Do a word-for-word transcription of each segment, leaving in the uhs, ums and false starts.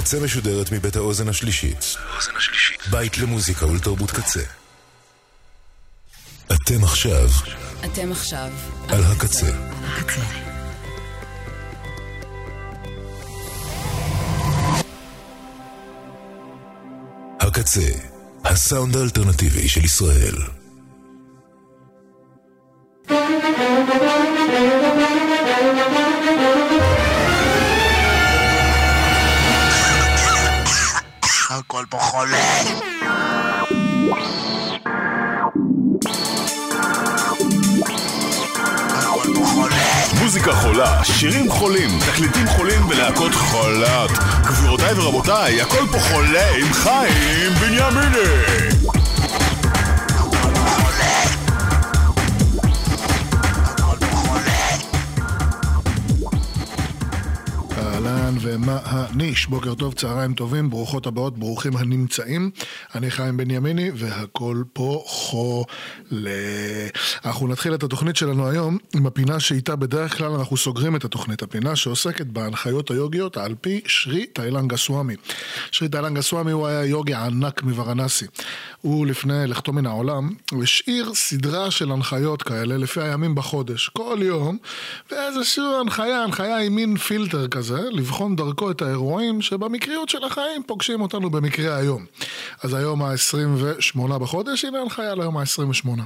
הקצה משודרת מבית האוזן השלישית. בית למוזיקה ולתרבות קצה. אתם עכשיו. אתם עכשיו. על הקצה. הקצה. הקצה. הסאונד האלטרנטיבי של ישראל. הכל פה חולה. הכל פה חולה. מוזיקה חולה, שירים חולים, תקליטים חולים ולהקות חולת. גבירותיי ורבותיי, הכל פה חולה עם חיים בנימיני. אהלן ומה הניש, בוקר טוב, צהריים טובים, ברוכות הבאות, ברוכים הנמצאים. אני חיים בנימיני והכל פה חולה. אנחנו נתחיל את התוכנית שלנו היום עם הפינה שאיתה בדרך כלל אנחנו סוגרים את התוכנית, הפינה שעוסקת בהנחיות היוגיות על פי שרי תאילנגה סוואמי. שרי תאילנגה סוואמי הוא היה יוגי ענק מוורנסי. הוא לפני לכתו מן העולם השאיר סדרה של הנחיות כאלה לפי הימים בחודש, כל יום, ואיזושהי הנחיה, הנחיה עם מין פילטר כזה, לבחון דרכו את האירועים שבמקריות של החיים פוגשים אותנו במקרה היום. אז היום ה-עשרים ושמונה בחודש, הנה הנחיה ליום ה-עשרים ושמונה.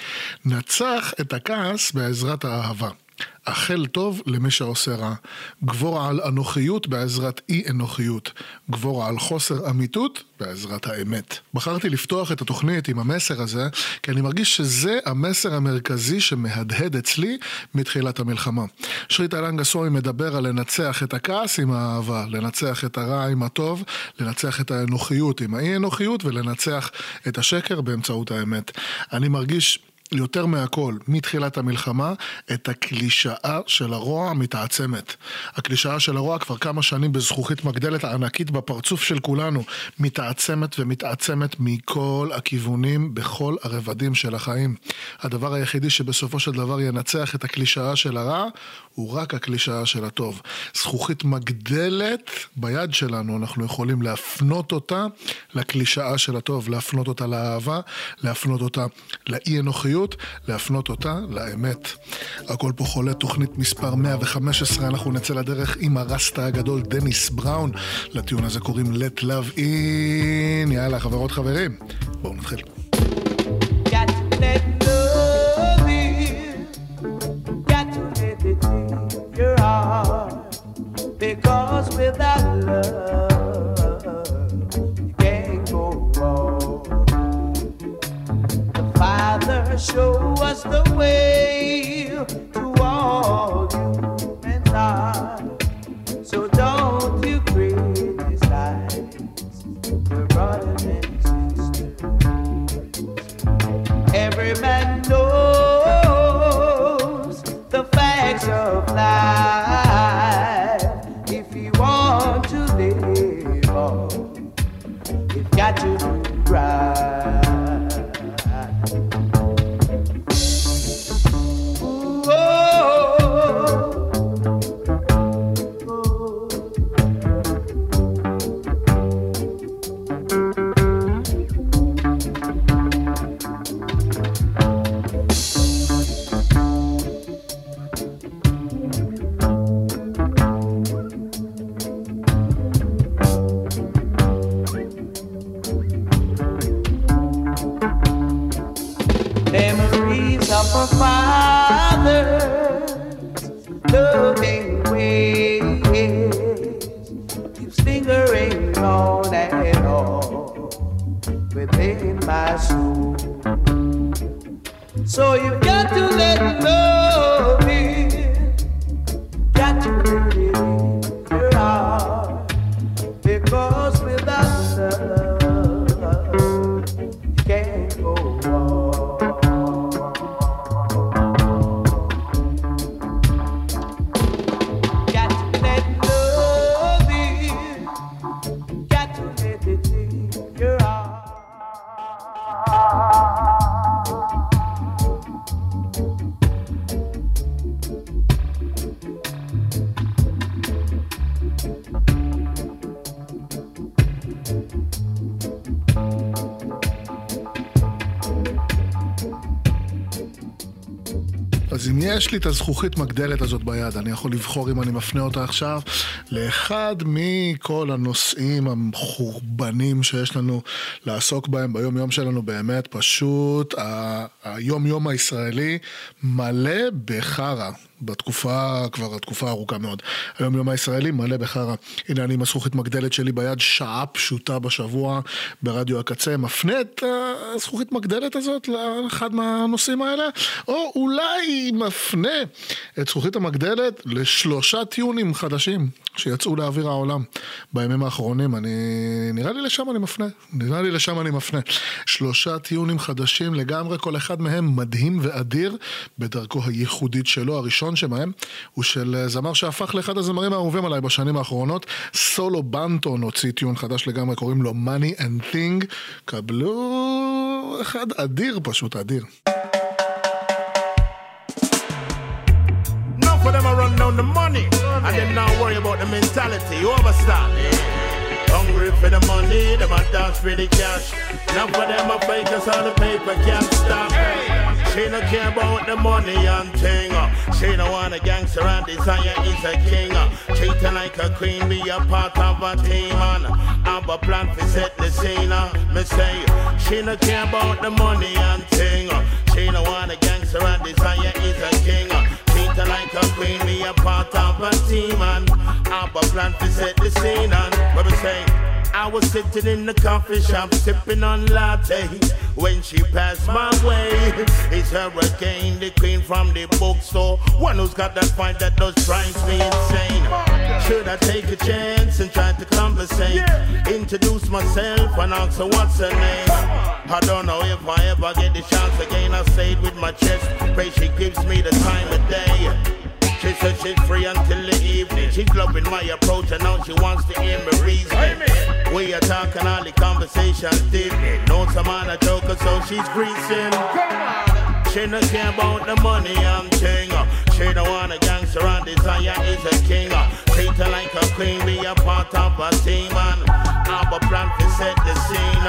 נצח את הכעס בעזרת האהבה. אכל טוב למי שעושה רע. גבור על אנוכיות בעזרת אי אנוכיות. גבור על חוסר אמיתות בעזרת האמת. בחרתי לפתוח את התוכנית עם המסר הזה, כי אני מרגיש שזה המסר המרכזי שמהדהד אצלי מתחילת המלחמה. שרי תאילנגה סוואמי מדבר על לנצח את הכעס עם האהבה, לנצח את הרע עם הטוב, לנצח את האנוכיות עם האי אנוכיות, ולנצח את השקר באמצעות האמת. אני מרגיש יותר מהכל, מתחילת המלחמה, את הקלישאה של הרוע מתעצמת. הקלישאה של הרוע כבר כמה שנים בזכוכית מגדלת הענקית בפרצוף של כולנו, מתעצמת ומתעצמת מכל הכיוונים, בכל הרבדים של החיים. הדבר היחידי שבסופו של דבר ינצח את הקלישאה של הרע, הוא רק הקלישאה של הטוב. זכוכית מגדלת ביד שלנו, אנחנו יכולים להפנות אותה לקלישאה של הטוב, להפנות אותה לאהבה, להפנות אותה לאי אנוכיות, להפנות אותה לאמת. הכל פה חולה, תוכנית מספר מאה וחמש עשרה, אנחנו נצא לדרך עם הרסטה הגדול דניס בראון. לטיעון הזה קוראים Let Love In. יאללה חברות חברים, בואו נתחיל. Got to let love in, got to let it in your heart, because without love you can't go wrong. The Father show us the way to all humankind, so don't you criticize your brothers and sisters. Every man knows the facts of life. If you want to live on, you've got to do right. Ooh, oh, יש לי את הזכוכית מגדלת הזאת ביד, אני יכול לבחור אם אני מפנה אותה עכשיו לאחד מכל הנושאים המחורבנים שיש לנו לעסוק בהם ביום יום שלנו. באמת פשוט היום יום הישראלי מלא בחרה. בתקופה, כבר התקופה ארוכה מאוד. היום יום הישראלי מלא בחרה. הנה אני עם הזכוכית מגדלת שלי ביד, שעה פשוטה בשבוע ברדיו הקצה, מפנה את הזכוכית מגדלת הזאת לאחד מהנושאים האלה, או אולי מפנה את זכוכית המגדלת לשלושה טיונים חדשים שיצאו לאוויר העולם בימים האחרונים. אני, נראה לי לשם אני מפנה. נראה לי לשם אני מפנה. שלושה טיונים חדשים לגמרי, כל אחד מהם מדהים ואדיר בדרכו הייחודית שלו. הראשון שמהם הוא של זמר שהפך לאחד הזמרים האהובים עליי בשנים האחרונות, סולו בנטון הוציא טיון חדש לגמרי, קוראים לו Money and Thing. קבלו אחד אדיר, פשוט אדיר. For them I run down the money and them not worry about the mentality. You understand? Hungry for the money, them a dance for the cash. Now for them I fake us all the paper can't stop. She no care about the money and thing. She no want a gangster and desire is a king. Treating like a queen, be a part of a team and have a plan to set the scene. Me say, she no care about the money and thing. She no want a gangster and desire is a king. Treating like a queen, be a part of a team and have a plan to set the scene. And what we say, I was sitting in the coffee shop sipping on latte when she passed my way. It's her again, the queen from the bookstore, one who's got that fight that does drives me insane. Should I take a chance and try to conversate, introduce myself and ask her what's her name? I don't know if I ever get the chance again. I stayed with my chest, pray she gives me the time of day. She said she's free until the evening. She's loving my approach and now she wants to hear me reasoning. We are talking all the conversations deeply. Knows some man a joker so she's greasing. She no care about the money I'm king. She don't want a gangster and desire is a king. Treat her like a queen, be a part of a team and have a plan to set the scene.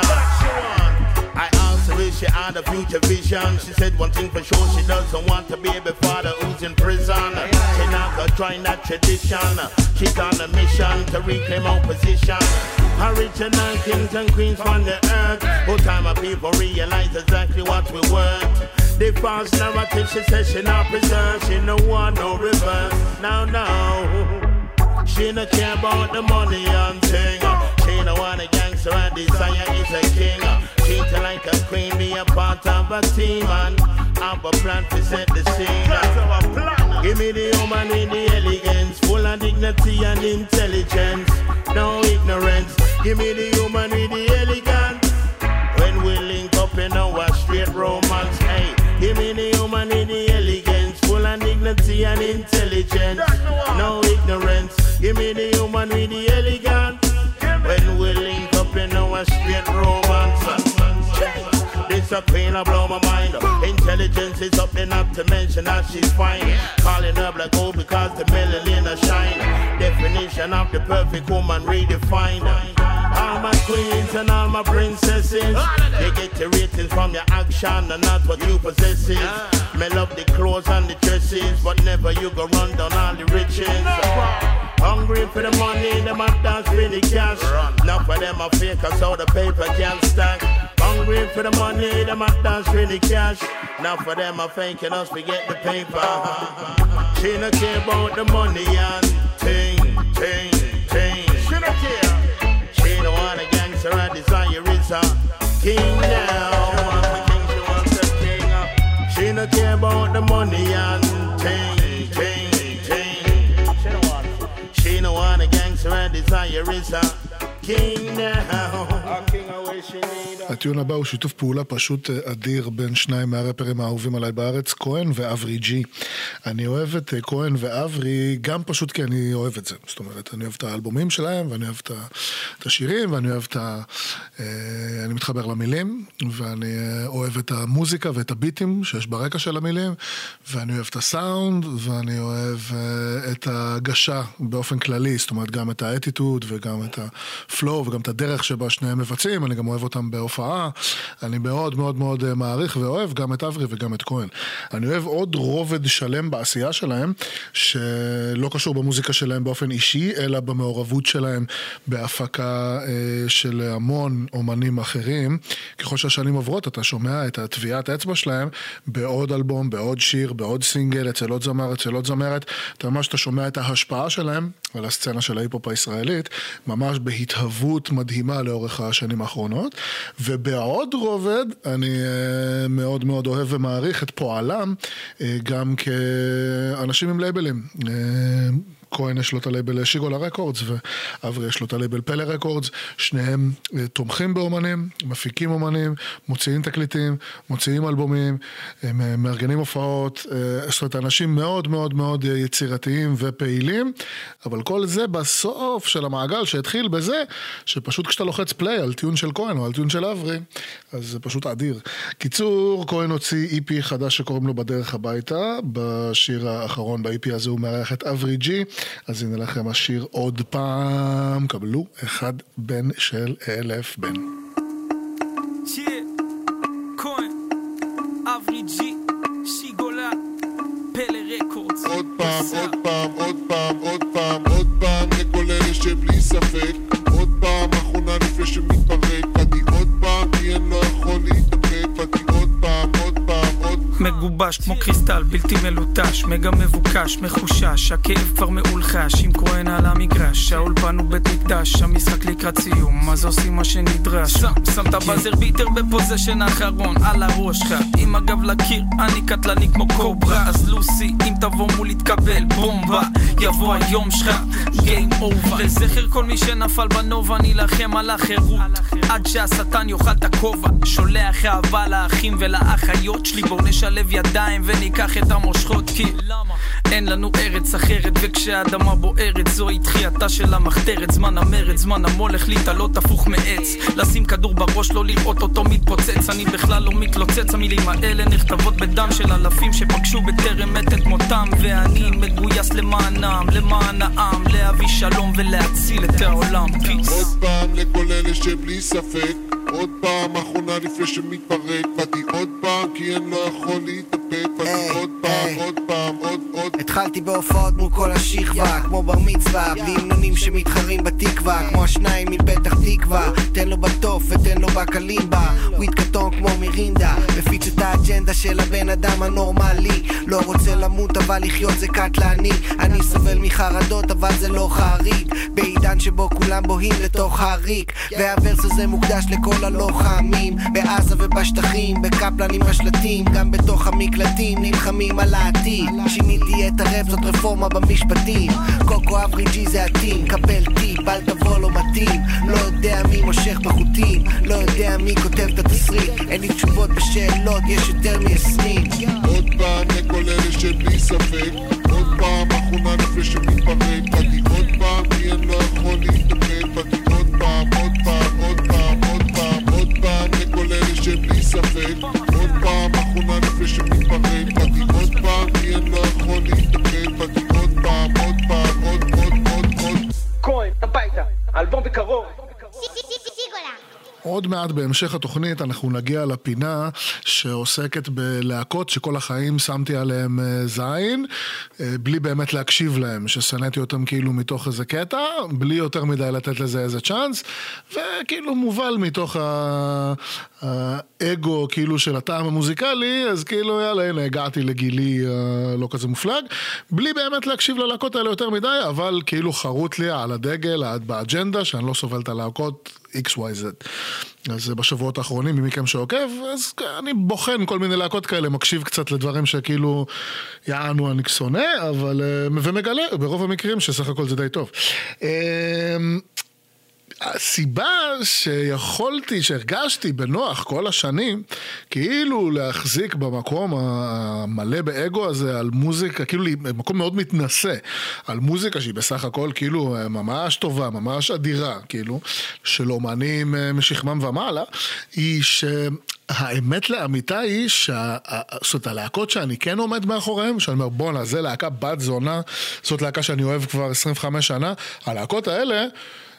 I asked her if she had a future vision. She said one thing for sure, she doesn't want a baby father who's in prison. She not gonna join that tradition. She's on a mission to reclaim our position. Original kings and queens from the earth. Whole time of people realize exactly what we worth. The false narrative, she says she not preserved. She no want no reverse. Now, now she no care about the money and thing. She no want a gangster and desire is a king. Treat her like a queen, be a part of a team and have a plan to set the scene. Give me the woman with the elegance, full of dignity and intelligence, no ignorance. Give me the woman with the elegance. When we link up in our straight romance, hey. Give me the woman with the elegance, full of dignity and intelligence, no ignorance. Give me the woman with the elegance. When we link up in our straight romance, this a queen, I blow my mind. Intelligence is up there, not to mention that she's fine. Calling her black gold because the melanin a shine. Definition of the perfect woman redefined. All my queens and all my princesses, they get the ratings from your action and not what you possess. Me love the clothes and the dresses, but never you go run down all the riches. Hungry for the money, them a dance for the cash. Now for them a fake, cause all the paper can't stack. Hungry for the money, them a dance for the cash. Now for them a fake, and us we get the paper. She no care about the money and ting, ting, ting. She no care. She no want a gangster and desire is a king now. She wants a king, she wants a king. She no care about the money and ting, ting, ting. She no want a gangster and desire is a king now. A king I wish she need. הטיון הבא הוא שיתוף פעולה פשוט אדיר בין שניים מהרפרים האהובים עליי בארץ, כהן ואברי ג'י. אני אוהב את כהן ואברי גם פשוט כי אני אוהב את זה. זאת אומרת, אני אוהב את האלבומים שלהם, ואני אוהב את השירים, ואני אוהב את ה... אני מתחבר למילים, ואני אוהב את המוזיקה ואת הביטים שיש ברקע של המילים, ואני אוהב את הסאונד, ואני אוהב את ההגשה באופן כללי, זאת אומרת, גם את האטיטוד וגם את הפלואו וגם את הדרך שבה שניהם מבצעים, אני גם אוהב אותם בהופעה, אני מאוד מאוד מאוד מעריך ואוהב גם את אברי וגם את כהן. אני אוהב עוד רובד שלם בעשייה שלהם, שלא קשור במוזיקה שלהם באופן אישי, אלא במעורבות שלהם בהפקה של המון אומנים אחרים. ככל שהשנים עוברות, אתה שומע את הטביעת אצבע שלהם בעוד אלבום, בעוד שיר, בעוד סינגל, אצל עוד זמר, אצל עוד זמרת. אתה ממש, אתה שומע את ההשפעה שלהם על הסצנה של ההיפ-הופ הישראלית, ממש בהתהוות מדהימה לאורך השנים האחרונות. ובעוד רובד, אני מאוד מאוד אוהב ומעריך את פועלם, גם כאנשים עם לייבלים. כהן יש לו את הלייבל שיגולה רקורדס, ואברי יש לו את הלייבל פלא רקורדס, שניהם תומכים באומנים, מפיקים אומנים, מוציאים תקליטים, מוציאים אלבומים, הם מארגנים הופעות, זאת אומרת, אנשים מאוד מאוד מאוד יצירתיים ופעילים, אבל כל זה בסוף של המעגל שהתחיל בזה, שפשוט כשאתה לוחץ פליי על טיון של כהן או על טיון של אברי, אז זה פשוט אדיר. קיצור, כהן הוציא אי פי חדש שקוראים לו בדרך הביתה, בשיר האחרון ב-אי פי הזה הוא מארח את אברי ג'י, אז הנה לכם השיר עוד פעם, קבלו אחד בן של אלף בן. כהן, אברי ג'י, שיגולה, פלא רקורדס. עוד פעם, עוד פעם, עוד פעם, עוד פעם, עוד פעם, לכל אלה שבלי ספק, עוד פעם, אחרונה לפני שמתפרק, פתי עוד פעם, כי אין לא יכול להתאפק, פתי עוד פעם, עוד פעם, עוד פעם. מגובש כמו קריסטל, בלתי מלוטש, מגה מבוקש, מחושש, הכאב כבר מאולחש, עם כהן על המגרש, האולפן הוא בית מקדש, המשחק לקראת סיום, אז עושים מה שנדרש. שם, שם את הבזר ביטר בפוזיישן האחרון, על הראש שלך, עם הגב לקיר, אני קטלני כמו קוברה, אז לוסי, אם תבוא מול יתקבל בומבה, יבוא היום שלך, גיים אובר. לזכר כל מי שנפל בנובה, נילחם על החירות, עד שהשטן יאכל את הכובע, שולח אהבה לאחים ולאחיות שלי, בואו נשלב ידיים וניקח את המושכות, כי אין לנו ארץ אחרת, וכשהאדמה בוערת זוהי תחייתה של המחתרת, זמן המרד, זמן המולך להתעלות הפוך מעץ, לשים כדור בראש, לא לראות אותו מתפוצץ, אני בכלל לא מתלוצץ, המילים האלה נכתבות בדם של אלפים שפגשו בטרם מת את מותם, ואני מגויס למענם, למען העם, להביא שלום ולהציל את העולם. פיס. עוד פעם לכל אלה שבלי ספק, עוד פעם אחרונה לפני שמתפרק, פתי עוד פעם כי אין לא יכול להתאפק, פתי עוד פעם, עוד פעם, עוד עוד. התחלתי בהופעות מול כל השכבה, כמו בר מצווה, בלי המנונים שמתחרים בתקווה, כמו השניים מפתח תקווה, תן לו בטוף ותן לו בקלימבה, וויד קטון כמו מירינדה, מפיץ את האג'נדה של הבן אדם הנורמלי, לא רוצה למות אבל לחיות זה קטלני, אני סובל מחרדות אבל זה לא חריג, בעידן שבו כולם בוהים לתוך הריק, והוורס הזה מוקדש לכל הלוחמים, בעזה ובשטחים, בקפלן עם השלטים, גם בתוך המקלטים נלחמים על העתיד, שיניתי את הרב, זאת רפורמה במשפטים, קוקו אברי ג'י זה עתים, קבל טיפ, אל תבוא לא מתאים, לא יודע מי מושך בחוטים, לא יודע מי כותב את התסריט, אין לי תשובות בשאלות, יש יותר מ-עשרים. עוד פעם לכל אלה שבלי ספק, עוד פעם אחרונה לפני שמתפרק, פתי עוד פעם כי אין לא יכול להתאפק, פתי עוד פעם, עוד פעם, עוד פעם, עוד פעם, עוד פעם לכל אלה שבלי ספק, עוד פעם אחרונה לפני שמתפרק, פתי עוד פעם כי אין לא יכול להתאפק, פתי עוד פעם, עוד פעם, עוד עוד עוד עוד. כהן, הביתה, אלבום בקרוב. עוד מעט בהמשך התוכנית אנחנו נגיע לפינה שעוסקת בלהקות שכל החיים שמתי עליהם זין, בלי באמת להקשיב להם, שסנאתי אותם כאילו מתוך איזה קטע, בלי יותר מדי לתת לזה איזה צ'אנס, וכאילו מובל מתוך האגו כאילו של הטעם המוזיקלי, אז כאילו יאללה, הנה הגעתי לגילי לא כזה מופלג, בלי באמת להקשיב ללהקות האלה יותר מדי, אבל כאילו חרוט לי על הדגל, באג'נדה, שאני לא סובל את הלהקות אקס וואי זד. אז בשבועות האחרונים, ממכם שעוקב, אז אני בוחן כל מיני להקות כאלה, מקשיב קצת לדברים שכאילו יענו אני שונא, אבל ומגלה ברוב המקרים שסך הכל זה די טוב. הסיבה שיכולתי, שהרגשתי בנוח כל השנים, כאילו להחזיק במקום המלא באגו הזה על מוזיקה, כאילו מקום מאוד מתנשא, על מוזיקה שהיא בסך הכל כאילו ממש טובה, ממש אדירה, כאילו, של אומנים משכמם ומעלה, היא ש... האמת לאמיתה היא שזאת הלהקות שאני כן עומד מאחוריהם, שאני אומר בונה, זה להקה בת זונה, זאת להקה שאני אוהב כבר עשרים וחמש שנה, הלהקות האלה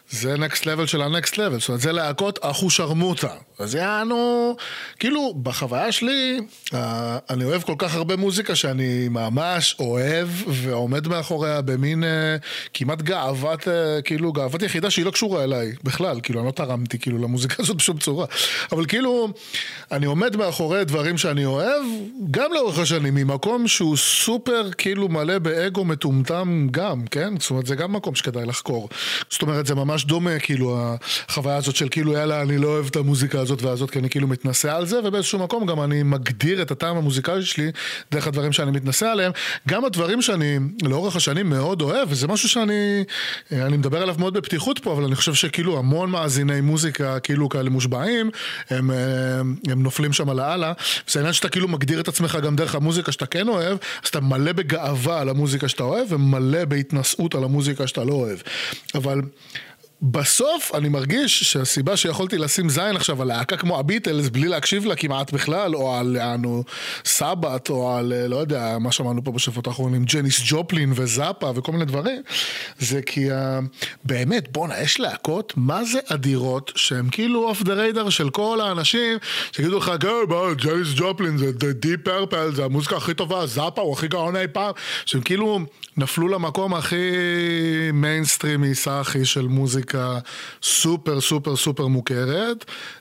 זה נקסט לבל של הנקסט לבל, זאת אומרת, זה להקות אחושרמוטה. אז יענו, כאילו, בחוויה שלי, אני אוהב כל כך הרבה מוזיקה שאני ממש אוהב, ועומד מאחוריה במין כמעט גאוות, כאילו, גאוות יחידה שהיא לא קשורה אליי, בכלל, כאילו, אני לא תרמתי, כאילו, למוזיקה הזאת בשום צורה. אבל כאילו, אני עומד מאחורי דברים שאני אוהב, גם לאורך השנים, ממקום שהוא סופר, כאילו, מלא באגו מטומטם גם, כן? זאת אומרת, זה גם מקום שכדאי לחקור. זאת אומרת, זה ממש דומה, כאילו, החוויה הזאת של כאילו, יאללה, אני לא אוהב את המוזיקה הזאת והזאת, כי אני כאילו מתנסה על זה, ובאיזשהו מקום גם אני מגדיר את הטעם המוזיקלי שלי, דרך הדברים שאני מתנסה עליהם, גם הדברים שאני לאורך השנים מאוד אוהב, וזה משהו שאני, אני מדבר עליו מאוד בפתיחות פה, אבל אני חושב שכאילו המון מאזיני מוזיקה, כאילו כאלה מושבעים, הם, הם נופלים שם על העלה, וזה העניין שאתה כאילו מגדיר את עצמך גם דרך המוזיקה שאתה כן אוהב, אז אתה מלא בגאווה על המוזיקה שאתה אוהב, ומלא בהתנסות על המוזיקה שאתה לא אוהב. אבל בסוף אני מרגיש שהסיבה שיכולתי לשים זין עכשיו על להקה כמו הביטלס בלי להקשיב לה כמעט בכלל, או על אנו סבת, או על לא יודע מה שמענו פה בשבועות האחרונים, ג'ניס ג'ופלין וזאפה וכל מיני דברים, זה כי באמת בונה יש להקות מה זה אדירות שהם כאילו אוף דה ריידר של כל האנשים שגידו לך ג'ניס ג'ופלין זה דיפ פרפל, זה המוזיקה הכי טובה, זאפה הוא הכי גאון אי פעם, שהם כאילו נפלו למקום הכי מיינסטרימי סאחי של מוזיקה סופר סופר סופר מוכרת,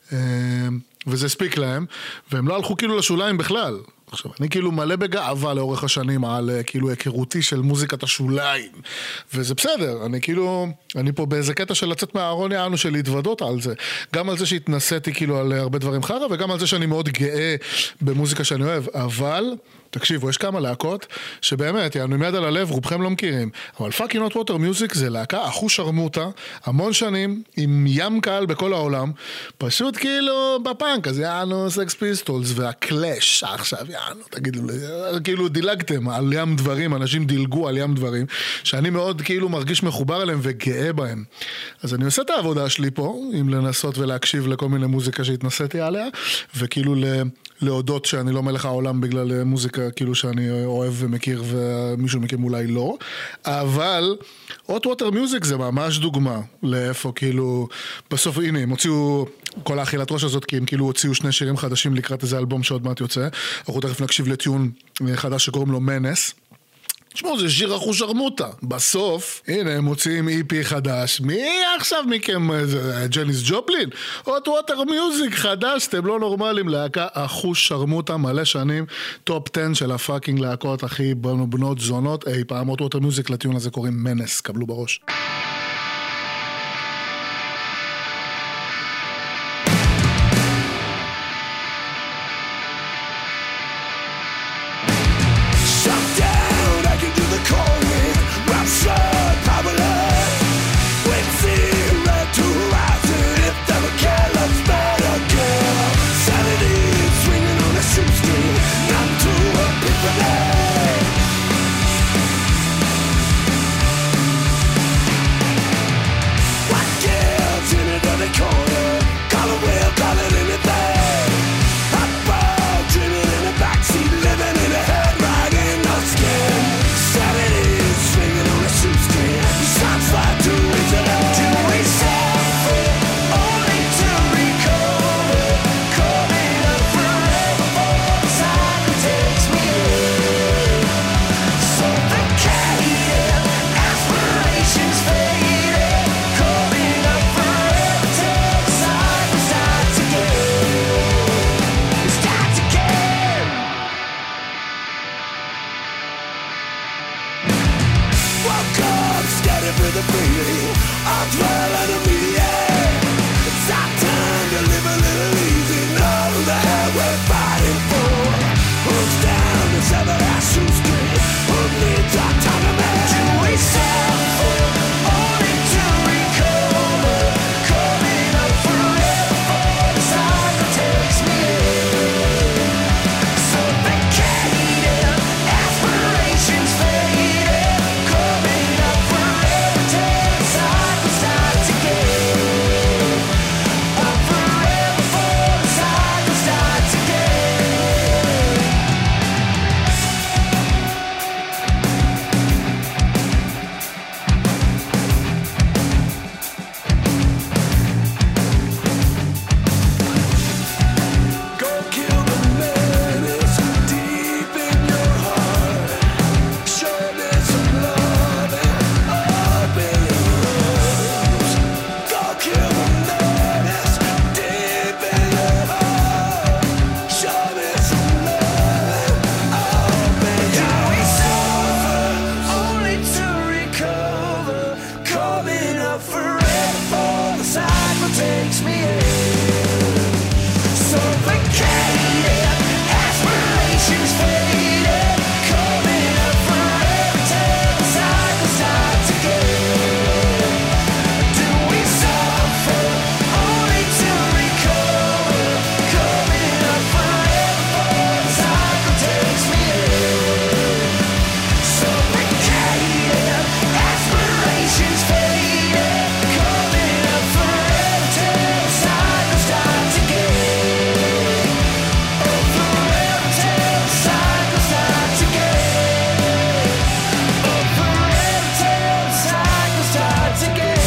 וזה ספיק להם, והם לא הלכו כאילו לשוליים בכלל. עכשיו, אני כאילו מלא בגאווה לאורך השנים על כאילו היכרותי של מוזיקת השוליים, וזה בסדר, אני כאילו, אני פה באיזה קטע של לצאת מהארון יענו של להתוודות על זה, גם על זה שהתנסיתי כאילו על הרבה דברים חרא, וגם על זה שאני מאוד גאה במוזיקה שאני אוהב, אבל תקשיבו, יש כמה להקות שבאמת, יענו עם יד על הלב, רובכם לא מכירים, אבל פאקינג נוט ווטר מיוזיק זה להקה אחושרמוטה, המון שנים, עם ים קהל בכל העולם, פשוט כאילו בפאנק, אז יענו סקס פיסטולס והקלאש עכשיו, יענו, תגידו, כאילו דילגתם על ים דברים, אנשים דילגו על ים דברים, שאני מאוד כאילו מרגיש מחובר אליהם וגאה בהם. אז אני עושה את העבודה שלי פה, עם לנסות ולהקשיב לכל מיני מוזיקה שהתנסיתי עליה, וכאילו ל... להודות שאני לא מלך העולם בגלל מוזיקה כאילו שאני אוהב ומכיר ומישהו מכם אולי לא, אבל Hot Water Music זה ממש דוגמה לאיפה כאילו בסוף הנה הם הוציאו כל האכילת ראש הזאת כי הם כאילו הוציאו שני שירים חדשים לקראת איזה אלבום שעוד מעט יוצא, אנחנו תכף נקשיב לטיון חדש שקוראים לו מנס. תשמעו, זה שיר אחושרמוטה. בסוף, הנה, הם מוציאים אי פי חדש. מי עכשיו מכם? ג'ניס ג'ופלין? Hot Water Music חדש, אתם לא נורמלים. להקה אחושרמוטה, מלא שנים, טופ עשר של הפאקינג להקות הכי בנות זונות. אי פעם, Hot Water Music לטיון הזה קוראים מנס, קבלו בראש. Not to a people. up forever for the cycle takes me in. Suffocated, aspirations faded, coming up forever till the cycle starts again. Do we suffer only to recover? Coming up forever for the cycle takes me in. Suffocated, aspirations faded, coming up forever till the cycle starts again. Oh, forever till the cycle starts again. Oh, forever till the cycle starts again.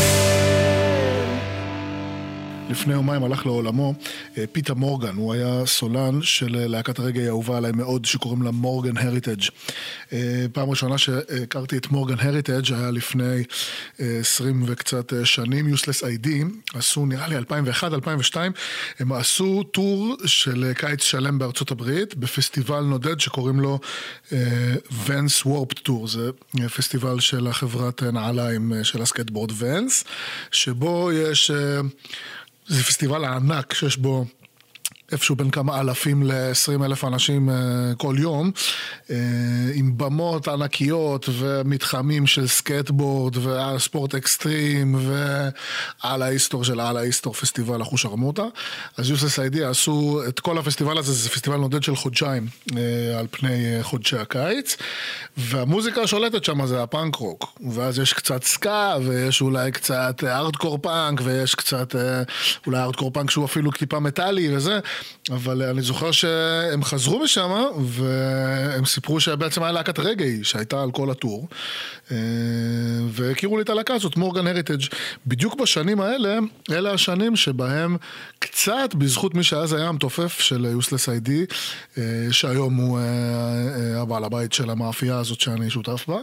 לפני יומיים הלך לעולמו פיטר מורגן, הוא היה סולן של להקת הרגעי האהובה עליי מאוד שקוראים לה מורגן הריטג'. פעם ראשונה שהכרתי את מורגן הריטג' היה לפני עשרים וקצת שנים. יוסלס איי די עשו נראה לי אלפיים ואחת אלפיים ושתיים, הם עשו טור של קיץ שלם בארצות הברית בפסטיבל נודד שקוראים לו ונס וורפד טור. זה פסטיבל של החברת נעליים של הסקייטבורד ונס, שבו יש... זה פסטיבל הענק שיש בו איפשהו בין כמה אלפים ל-עשרים אלף אנשים כל יום, עם במות ענקיות ומתחמים של סקייטבורד וספורט אקסטרים ועל ההיסטור של על ההיסטור פסטיבל אחוש הרמוטה. אז יוסלס איי די עשו את כל הפסטיבל הזה, זה פסטיבל נודד של חודשיים על פני חודשי הקיץ, והמוזיקה השולטת שם זה הפאנק רוק, ואז יש קצת סקה ויש אולי קצת ארדקור פאנק ויש קצת אולי ארדקור פאנק שהוא אפילו טיפה מטאלי וזה, אבל אני זוכר שהם חזרו משם והם סיפרו שבעצם היה להקת רגעי שהייתה על כל הטור, והכירו לי את הלהקה הזאת, מורגן הריטג'. בדיוק בשנים האלה, אלה השנים שבהם קצת בזכות מי שאז היה המתופף של יוסלס איי די, שהיום הוא הבעל הבית של המאפייה הזאת שאני שותף בה,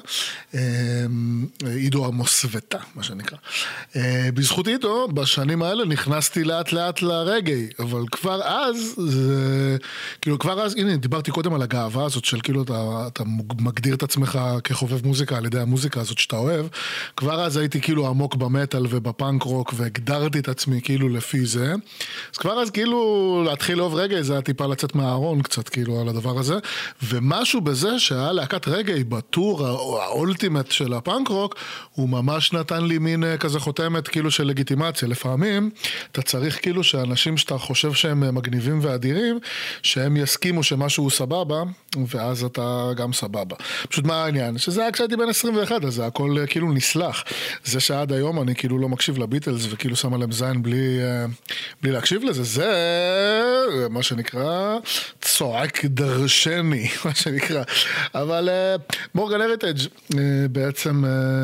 עידו המוסוותה, מה שנקרא. בזכות עידו, בשנים האלה נכנסתי לאט לאט לרגעי, אבל כבר אז, זה, כאילו כבר אז, הנה, דיברתי קודם על הגאווה הזאת של כאילו אתה, אתה מגדיר את עצמך כחובב מוזיקה על ידי המוזיקה הזאת שאתה אוהב, כבר אז הייתי כאילו עמוק במטל ובפאנק רוק והגדרתי את עצמי כאילו לפי זה, אז כבר אז כאילו להתחיל לאהוב רגעי זה היה טיפה לצאת מהארון קצת כאילו על הדבר הזה, ומשהו בזה שהיה להקת רגעי בטור האולטימט של הפאנק רוק, הוא ממש נתן לי מין כזה חותמת כאילו של לגיטימציה. לפעמים אתה צריך כאילו שאנשים שאתה חושב שהם מגניבים ואדירים, שהם יסכימו שמשהו סבבה, ואז אתה גם סבבה. פשוט מה העניין? שזה היה כשהייתי בן עשרים ואחת, אז זה הכל כאילו נסלח. זה שעד היום אני כאילו לא מקשיב לביטלס, וכאילו שם עליהם זין בלי, בלי להקשיב לזה, זה מה שנקרא צועק דרשני, מה שנקרא. אבל מורגן הריטג' בעצם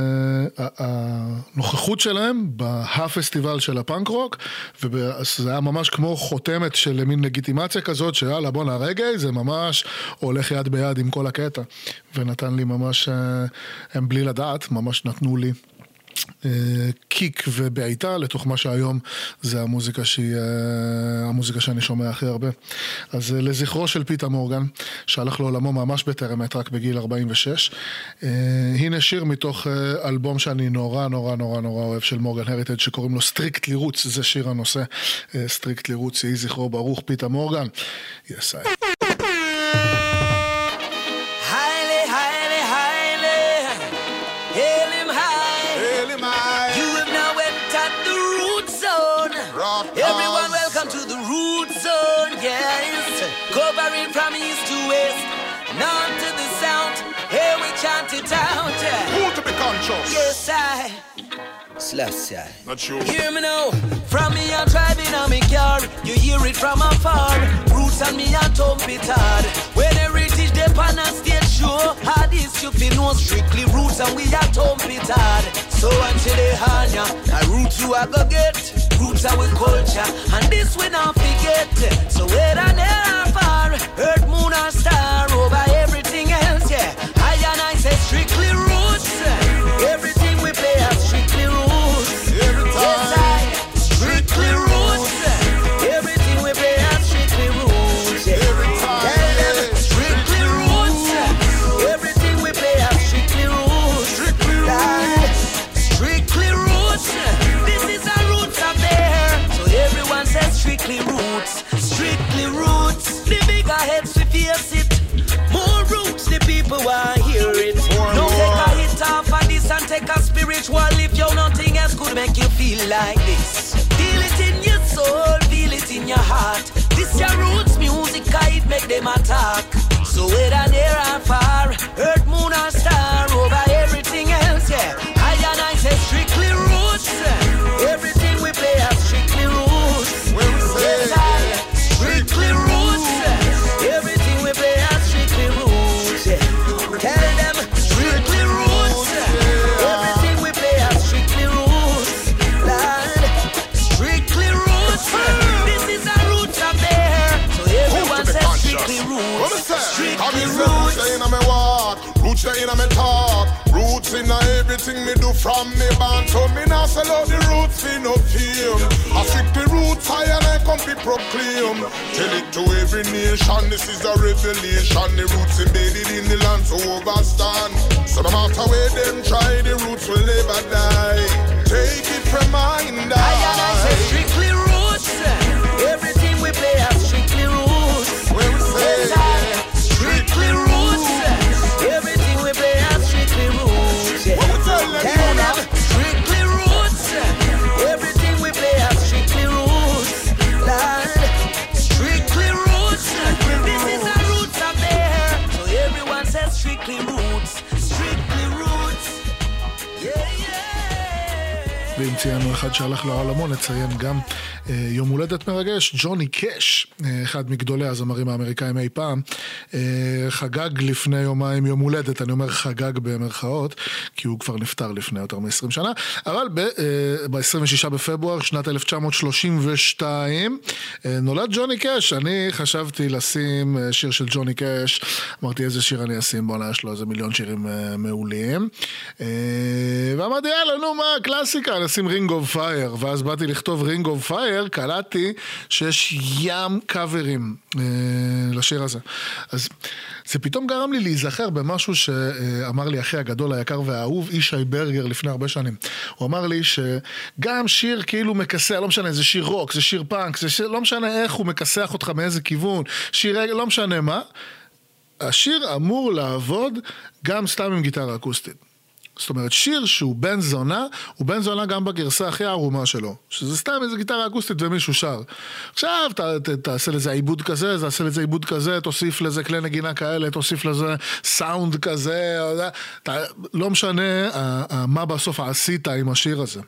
הנוכחות שלהם בפסטיבל של הפאנק רוק, וזה היה ממש כמו חותמת של מין לגיטימציה כזאת, שיאללה בוא נרגע, זה ממש הולך יד ביד עם כל הקטע, ונתן לי ממש, הם בלי לדעת, ממש נתנו לי קיק ובעיטה לתוך מה שהיום זה המוזיקה שהיא המוזיקה שאני שומע הכי הרבה. אז לזכרו של פיטר מורגן שהלך לעולמו ממש בטרם עת, רק בגיל ארבעים ושש, הנה שיר מתוך אלבום שאני נורא נורא נורא נורא אוהב של מורגן הריטג' שקוראים לו סטריקטלי רוטס. זה שיר הנושא, סטריקטלי רוטס. יהי זכרו ברוך פיטר מורגן. יס איי Everyone welcome to the root zone, yes. Covering from east to west, north to the south, here we chant it out. Who to be conscious? Yes, I. Slash, I. Not sure. Hear me now. From me I'm driving on me car, you hear it from afar. Roots and me a thump it hard. When they reach the pan and stage show, how this you feel no strictly roots and we a thump it hard. So until they hanya, a roots you a go get. Roots are with culture, and this we not forget. So whether near or far, earth, moon or star, over everything else, yeah. I and I say strictly roots. Everything we play has strictly roots. Yes, I, strictly roots. Everything we play has strictly roots. Yeah, strictly roots. Everything we play has strictly roots. Strictly roots. spiritual if you nothing else could make you feel like this. Feel it in your soul, feel it in your heart. This your roots music, it make them attack. So whether near or far, earth, moon or star, over everything else, yeah. I and I say strictly roots. Everything we play are strictly roots. Yes, I, strictly roots. Everything we play are strictly roots. Yeah. Tell them strictly roots. Everything we play are strictly roots. Lord, strictly roots. This is a roots up there. So everyone says strictly roots. Strictly roots. Roots in my talk, roots in everything me do from me band. So me now sell out the roots for no fame. I stick the roots high and I come to proclaim. Tell it to every nation, this is a revelation. The roots embedded in the land so overstand. So no matter where them try, the roots will never die. Take it from mind. I and I say strictly roots. Everything we play are strictly roots. When we say strictly roots. Everything we play are strictly roots. Yeah. Tell them strictly roots. Everything we play are strictly roots. Lord, strictly roots. This is a roots up there. So everyone says strictly roots. Strictly roots. Yeah, yeah. ואם ציינו אחד שהלך לעולמו, נציין גם אה, יום הולדת מרגש, ג'וני קאש, אה, אחד מגדולי הזמרים האמריקאים אי פעם, אה, חגג לפני יומיים יום הולדת, אני אומר חגג במרכאות, כי הוא כבר נפטר לפני יותר מ-עשרים שנה, אבל ב-עשרים ושישה בפברואר שנת אלף תשע מאות שלושים ושתיים אה, נולד ג'וני קאש. אני חשבתי לשים אה, שיר של ג'וני קאש, אמרתי איזה שיר אני אשים, בוא יש לו איזה מיליון שירים אה, מעולים, אה, ואמרתי יאללה נו מה קלאסיקה, נשים רינג אוף פייר, ואז באתי לכתוב רינג אוף פייר, קלטתי שיש ים קאברים אה, לשיר הזה. אז זה פתאום גרם לי להיזכר במשהו שאמר לי אחי הגדול, היקר והאהוב, ישי ברגר, לפני הרבה שנים. הוא אמר לי שגם שיר כאילו מקסח, לא משנה, זה שיר רוק, זה שיר פאנק, זה שיר, לא משנה איך הוא מקסח אותך מאיזה כיוון, שיר, לא משנה מה, השיר אמור לעבוד גם סתם עם גיטרה אקוסטית. זאת אומרת, שיר שהוא בן זונה, הוא בן זונה גם בגרסה הכי ערומה שלו. שזה סתם איזה גיטרה אקוסטית ומישהו שר. עכשיו, ת, ת, תעשה לזה עיבוד כזה, תעשה לזה עיבוד כזה, תוסיף לזה כלי נגינה כאלה, תוסיף לזה סאונד כזה, ת, לא משנה מה בסוף עשית עם השיר הזה.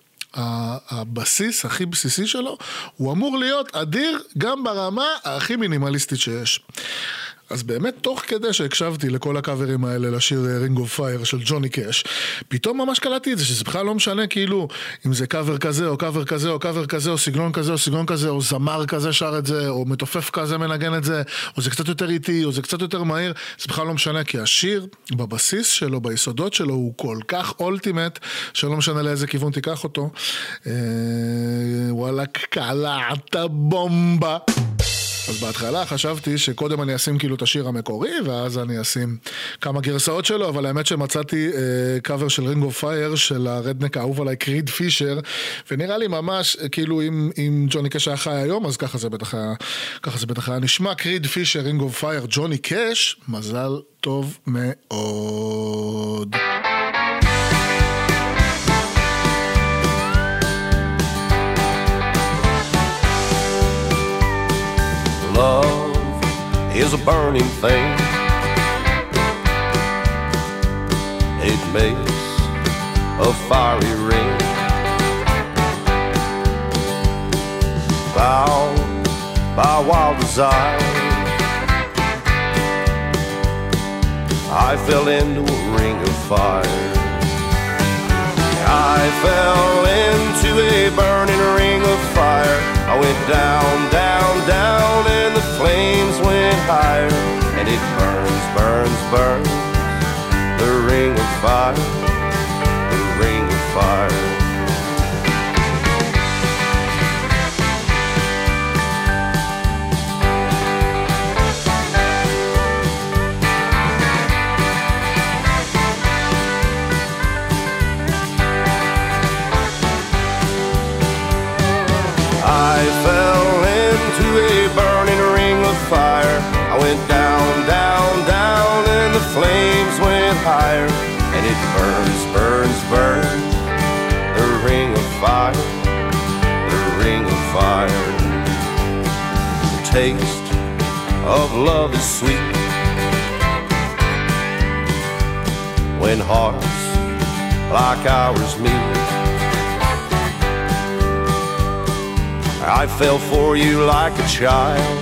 הבסיס הכי בסיסי שלו, הוא אמור להיות אדיר גם ברמה הכי מינימליסטית שיש. אז באמת, תוך כדי שהקשבתי לכל הקאברים האלה לשיר רינג אוף פייר של ג'וני קאש, פתאום ממש קלטתי את זה, שזה בכלל לא משנה כאילו, אם זה קאבר כזה, או קאבר כזה, או קאבר כזה, או סגנון כזה, או סגנון כזה, או זמר כזה שר את זה, או מתופף כזה מנגן את זה, או זה קצת יותר איטי, או זה קצת יותר מהיר, זה בכלל לא משנה, כי השיר, בבסיס שלו, ביסודות שלו, הוא כל כך אולטימט, שלא משנה לאיזה כיוון תיקח אותו. וואלה, קלעת בומבה. אז בהתחלה חשבתי שקודם אני אשים כאילו את השיר המקורי, ואז אני אשים כמה גרסאות שלו, אבל האמת שמצאתי אה, קאבר של רינג אוף פייר, של הרדנק האהוב עליי, קריד פישר, ונראה לי ממש, כאילו אם, אם ג'וני קאש היה חי היום, אז ככה זה בטח היה, ככה זה בטח היה נשמע, קריד פישר, רינג אוף פייר, ג'וני קאש, מזל טוב מאוד. Love is a burning thing. It makes a fiery ring. Bound by wild desire, I fell into a ring of fire. I fell into a burning ring of fire. I went down, down, down, and the flames went higher. And it burns, burns, burns, the ring of fire, the ring of fire. I fell into a burning ring of fire. I went down, down, down, and the flames went higher. And it burns, burns, burns, fire, the ring of fire. The taste of love is sweet when hearts like ours meet. I fell for you like a child.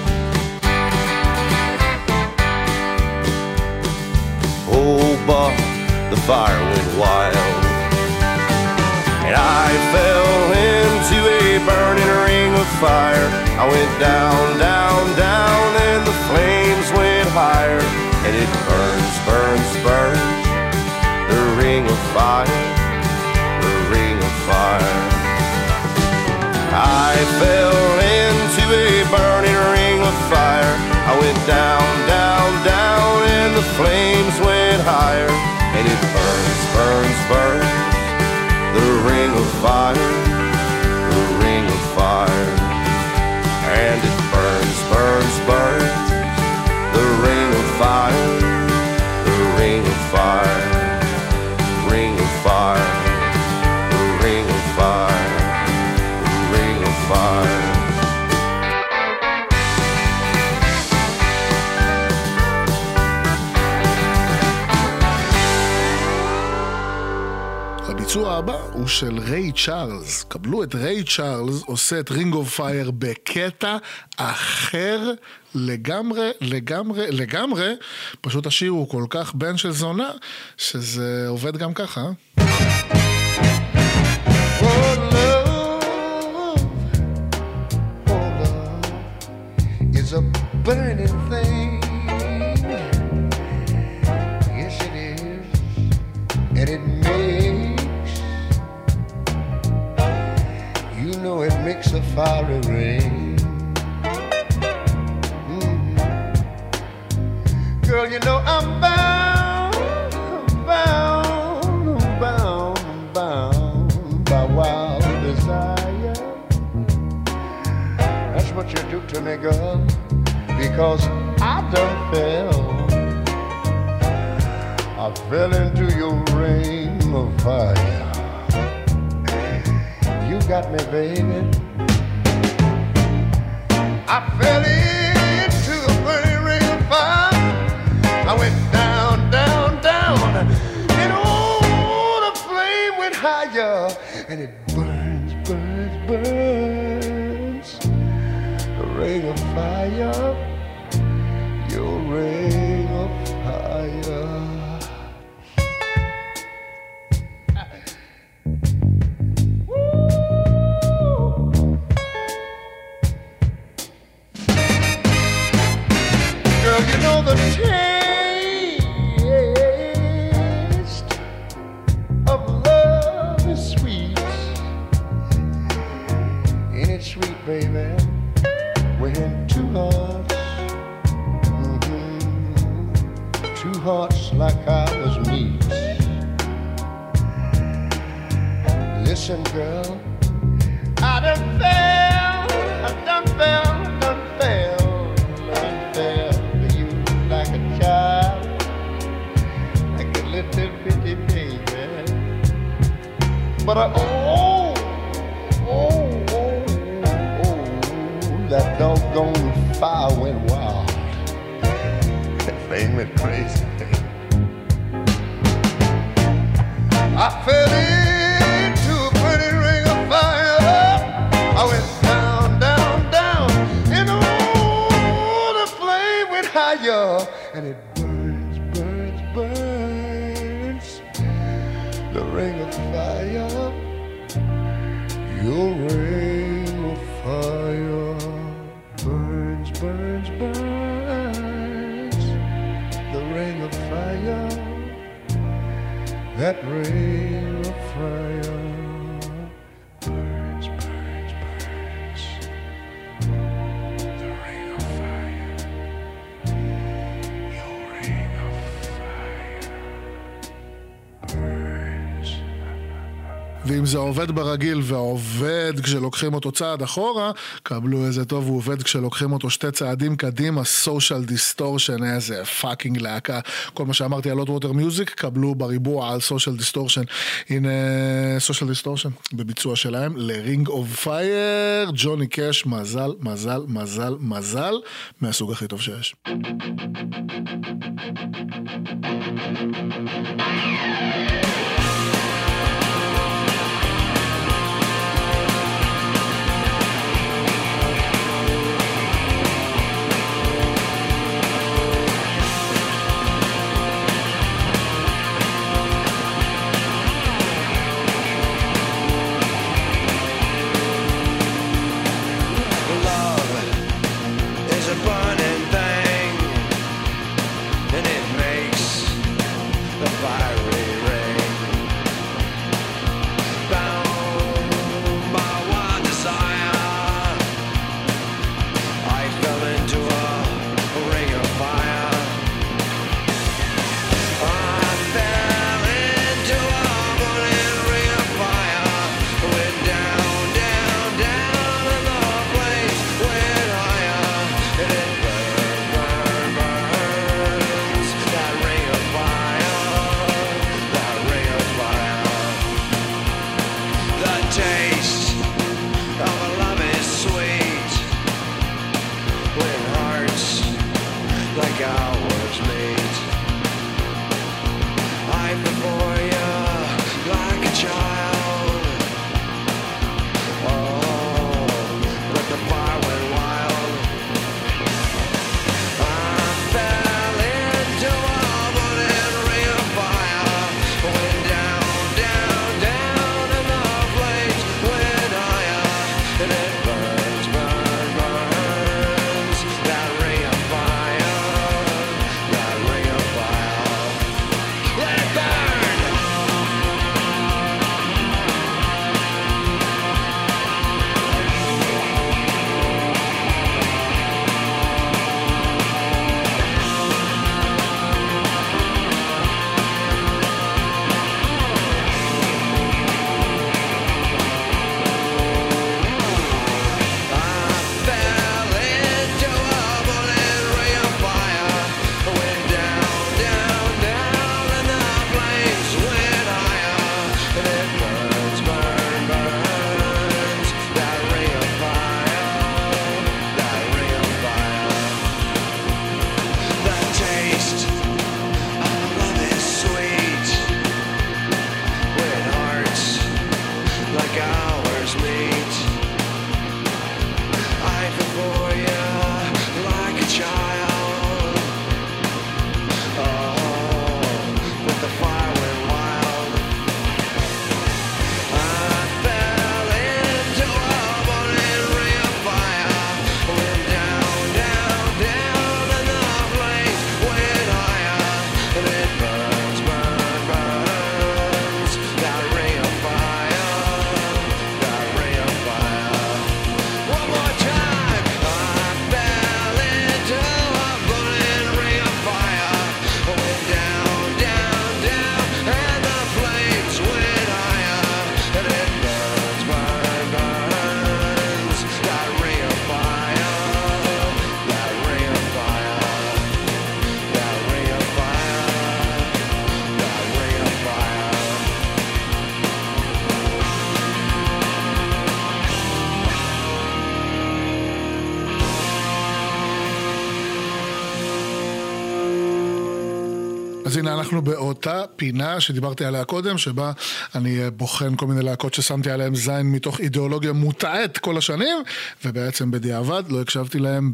Oh, but the fire went wild, and I fell into a burning ring of fire. I went down, down, down, and the flames went higher. And it burns, burns, burns, the ring of fire, the ring of fire. I fell into a burning ring of fire. I went down, down, down, and the flames went higher. And it burns, burns, burns, the ring of fire, the ring of fire. And it burns, burns, burns, the ring of fire, the ring of fire, ring of fire, the ring of fire, the ring of fire. הביצוע הבא הוא של ריי צ'ארלס. קבלו את ריי צ'ארלס עושה את רינג אוף פייר בקטע אחר לגמרי, לגמרי, לגמרי. פשוט השיר הוא כל כך בן של זונה שזה עובד גם ככה. It's a burning thing. Yes it is. And it makes, you know it makes a fiery ring. Mm-hmm. Girl, you know I'm bound, I'm bound, I'm bound, I'm bound by wild desire. That's what you do to me, girl, because I done fell. I fell into your ring of fire. You got me, baby. I fell into a burning ring of fire. I went down, down, down, and oh, the flame went higher, and it burns, burns, burns. The ring of fire, your ring of fire. The taste of love is sweet. Ain't it sweet, baby, when two hearts, mm-hmm, two hearts like ours meet. Listen, girl, I done fell, I done fell, done fell. Like a little bitty baby. But I, oh, oh, oh, oh, that doggone fire went wild. That thing went crazy. I fell into a pretty ring of fire. I went down, down, down, and oh, the flame went higher. And it burns, burns, burns, the ring of fire, your ring of fire, burns, burns, burns, the ring of fire, that ring of fire, burns, burns, burns, the ring of fire. ועם זה עובד ברגיל ועובד כשלוקחים אותו צעד אחורה, קבלו איזה טוב הוא עובד כשלוקחים אותו שתי צעדים קדימה, Social Distortion, איזה פאקינג להקה. כל מה שאמרתי על Hot Water Music, קבלו בריבוע על Social Distortion. הנה Social Distortion בביצוע שלהם ל-Ring of Fire, ג'וני קאש, מזל, מזל, מזל, מזל, מהסוג הכי טוב שיש. אז הנה אנחנו באותה פינה שדיברתי עליה קודם, שבה אני בוחן כל מיני להקות ששמתי עליהם זין מתוך אידיאולוגיה מוטעת כל השנים, ובעצם בדיעבד לא הקשבתי להם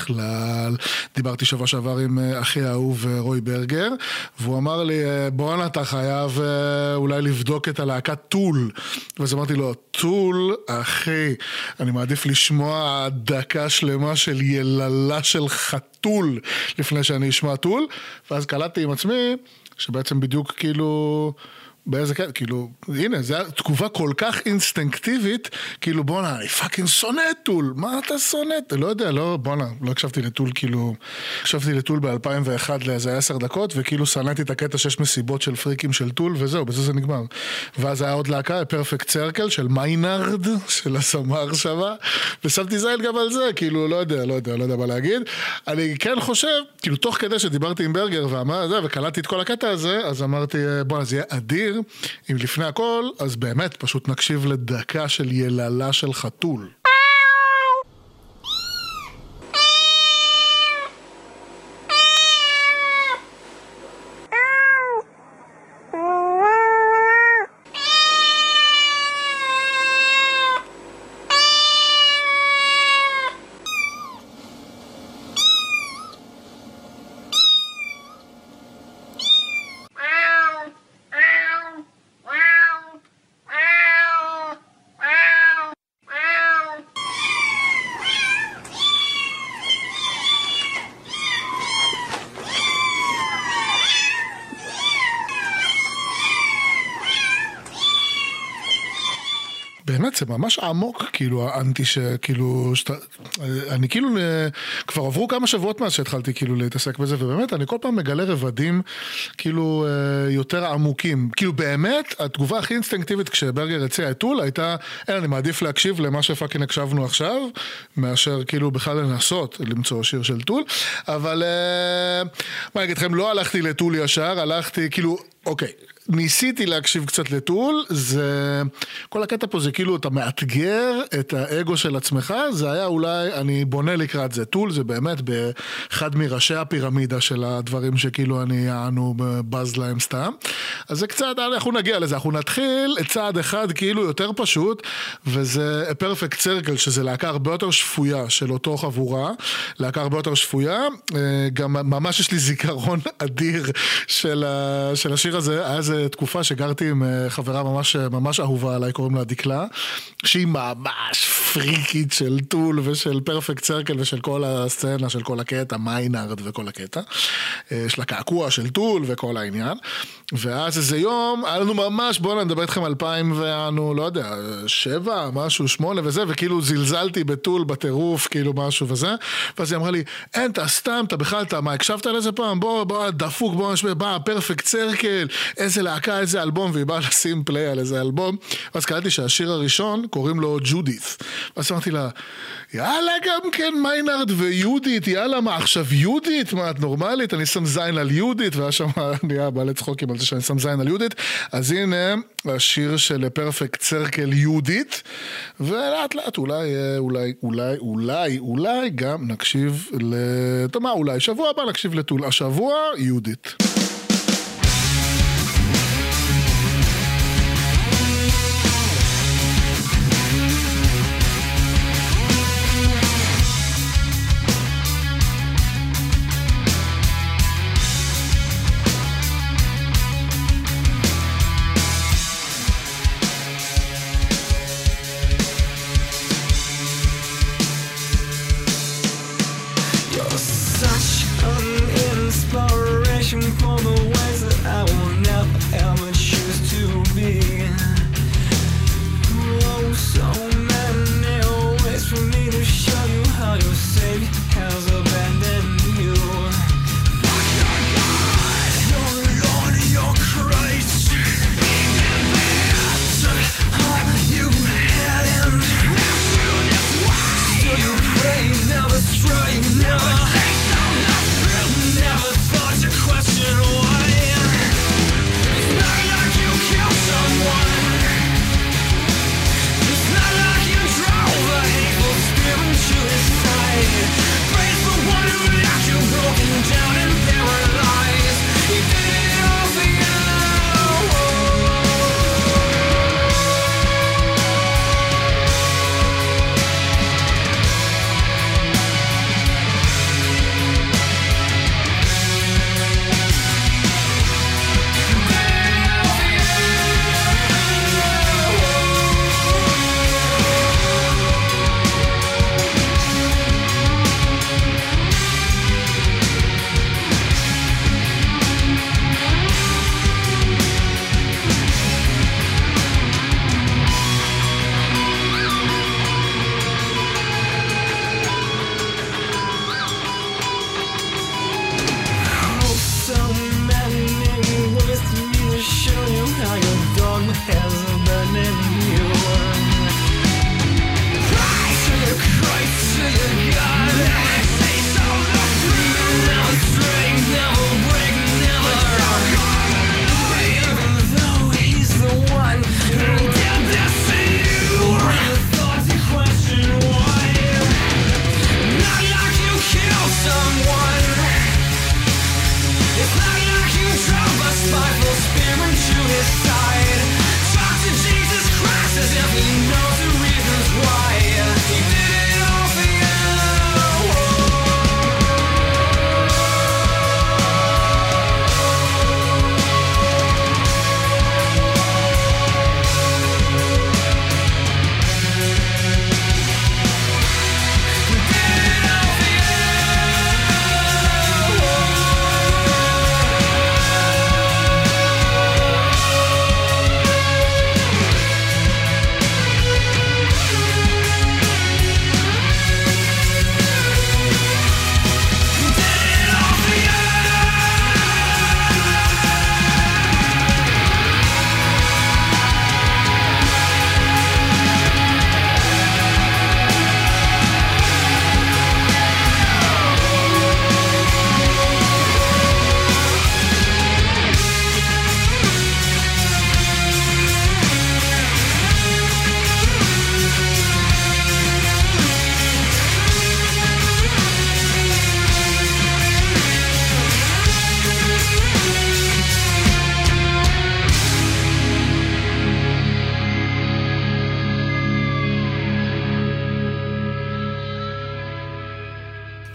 בכלל. דיברתי שבוע שעבר עם אחי האהוב רוי ברגר, והוא אמר לי, בואנה אתה חייב אולי לבדוק את הלהקת טול. ואז אמרתי לו, טול אחי, אני מעדיף לשמוע דקה שלמה של יללה של חתול לפני שאני אשמע טול. ואז קלטתי עם עצמי שבעצם בדיוק כאילו באיזה כן, כאילו, הנה, זו תגובה כל כך אינסטינקטיבית, כאילו, בונה, אני פאקינג שונא טול, מה אתה שונא? לא יודע, לא, בונה, לא הקשבתי לטול, כאילו, הקשבתי לטול ב-אלפיים ואחת לאיזה עשר דקות, וכאילו סנאתי את הקטע שש מסיבות של פריקים של טול, וזהו, בזה זה נגמר. ואז היה עוד להקה, פרפקט סרקל, של מיינרד, של הסמר שווה, ושמתי זין גם על זה, כאילו, לא יודע, לא יודע, לא יודע מה להגיד. אני כן חושב, כאילו, תוך כדי שדיברתי עם ברגר, ואמר, זה, וקלטתי את כל הקטע הזה, אז אמרתי, בוא, זה יהיה אדיר, אם לפני הכל, אז באמת, פשוט נקשיב לדקה של יללה של חתול. באמת, זה ממש עמוק, כאילו, האנטי שכאילו, שת... אני כאילו, כבר עברו כמה שבועות מאז שהתחלתי כאילו להתעסק בזה, ובאמת, אני כל פעם מגלה רבדים, כאילו, יותר עמוקים. כאילו, באמת, התגובה הכי אינסטינקטיבית כשברגר הציע את טול, הייתה, אין, אני מעדיף להקשיב למה שפאקינג הקשבנו עכשיו, מאשר כאילו בכלל לנסות למצוא שיר של טול, אבל, מה אני אגיד לכם, לא הלכתי לטול ישר, הלכתי, כאילו, אוקיי, ניסיתי להקשיב קצת לטול, זה, כל הקטע פה זה כאילו, אתה מאתגר את האגו של עצמך, זה היה אולי, אני בונה לקראת זה, טול זה באמת באחד מראשי הפירמידה של הדברים שכאילו אני אענו בז להם סתם, אז זה קצת, אנחנו נגיע לזה, אנחנו נתחיל את צעד אחד כאילו יותר פשוט, וזה פרפקט סרקל, שזה להקה הרבה יותר שפויה של אותו חבורה, להקה הרבה יותר שפויה, גם ממש יש לי זיכרון אדיר של, של השיר הזה, היה זה תקופה שגרתי עם חברה ממש, ממש אהובה עליי, קוראים לה דקלה, שהיא ממש פריקית של טול ושל פרפקט סרקל ושל כל הסצנה, של כל הקטע, מיינרד וכל הקטע, יש לה קעקוע של טול וכל העניין, ואז איזה יום, היה לנו ממש, בואו נדבר איתכם אלפיים ואנו, לא יודע, שבע, משהו, שמונה וזה, וכאילו זלזלתי בטול, בטירוף, כאילו משהו וזה, ואז היא אמרה לי, אין, אתה סתם, אתה בכלל, אתה, מה, הקשבת על איזה פעם? בוא, בוא, דפוק, בוא, נשמע, בוא, פרפקט סרקל, איזה להקה, איזה אלבום, והיא באה לשים פליי על איזה אלבום, ואז קראתי שהשיר הראשון קוראים לו ג'ודית, ואז אמרתי לה, יאללה גם כן מיינרד ויהודית, יאללה מה עכשיו יהודית, מה את נורמלית, אני שם זין על יהודית, והיה שם נהיה בעלי צחוקים על זה שאני שם זין על יהודית, אז הנה השיר של פרפקט סרקל יהודית, ולאט לאט אולי, אולי, אולי, אולי, אולי גם נקשיב לתמה, אולי שבוע הבא נקשיב לטול, השבוע יהודית. For the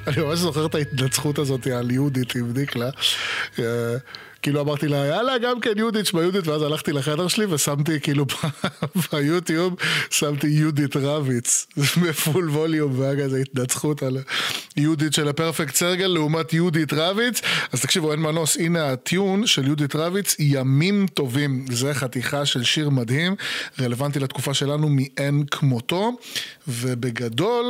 אני ממש זוכר את ההתנצחות הזאת על יהודית עם דיקלה. כאילו אמרתי לה, יאללה, גם כן יהודית, שמה יהודית, ואז הלכתי לחדר שלי ושמתי כאילו ביוטיוב, שמתי יהודית רביץ, בפול ווליום, והיה כזה התנצחות על יהודית של הפרפקט סרגל, לעומת יהודית רביץ. אז תקשיבו, אין מנוס, הנה הטיון של יהודית רביץ, ימים טובים. זה חתיכה של שיר מדהים, רלוונטי לתקופה שלנו מאין כמותו, ובגדול,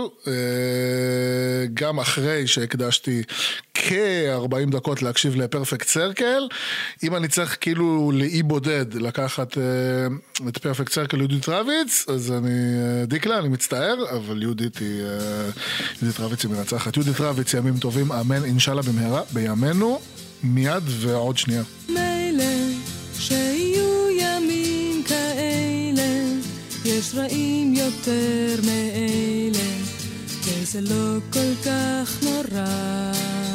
גם אחרי שהקדשתי כ-ארבעים דקות להקשיב לפרפקט סרקל, אם אני צריך כאילו לאי בודד לקחת uh, את פרפקט סרקל יהודית רביץ, אז אני uh, דיקלה, אני מצטער, אבל יהודית היא uh, יהודית רביץ היא מנצחת. יהודית רביץ, ימים טובים, אמן, אינשאללה במהרה, בימינו, מיד ועוד שנייה. מילא שיהיו ימים כאלה, יש רעים יותר מאלה, וזה לא כל כך נורא.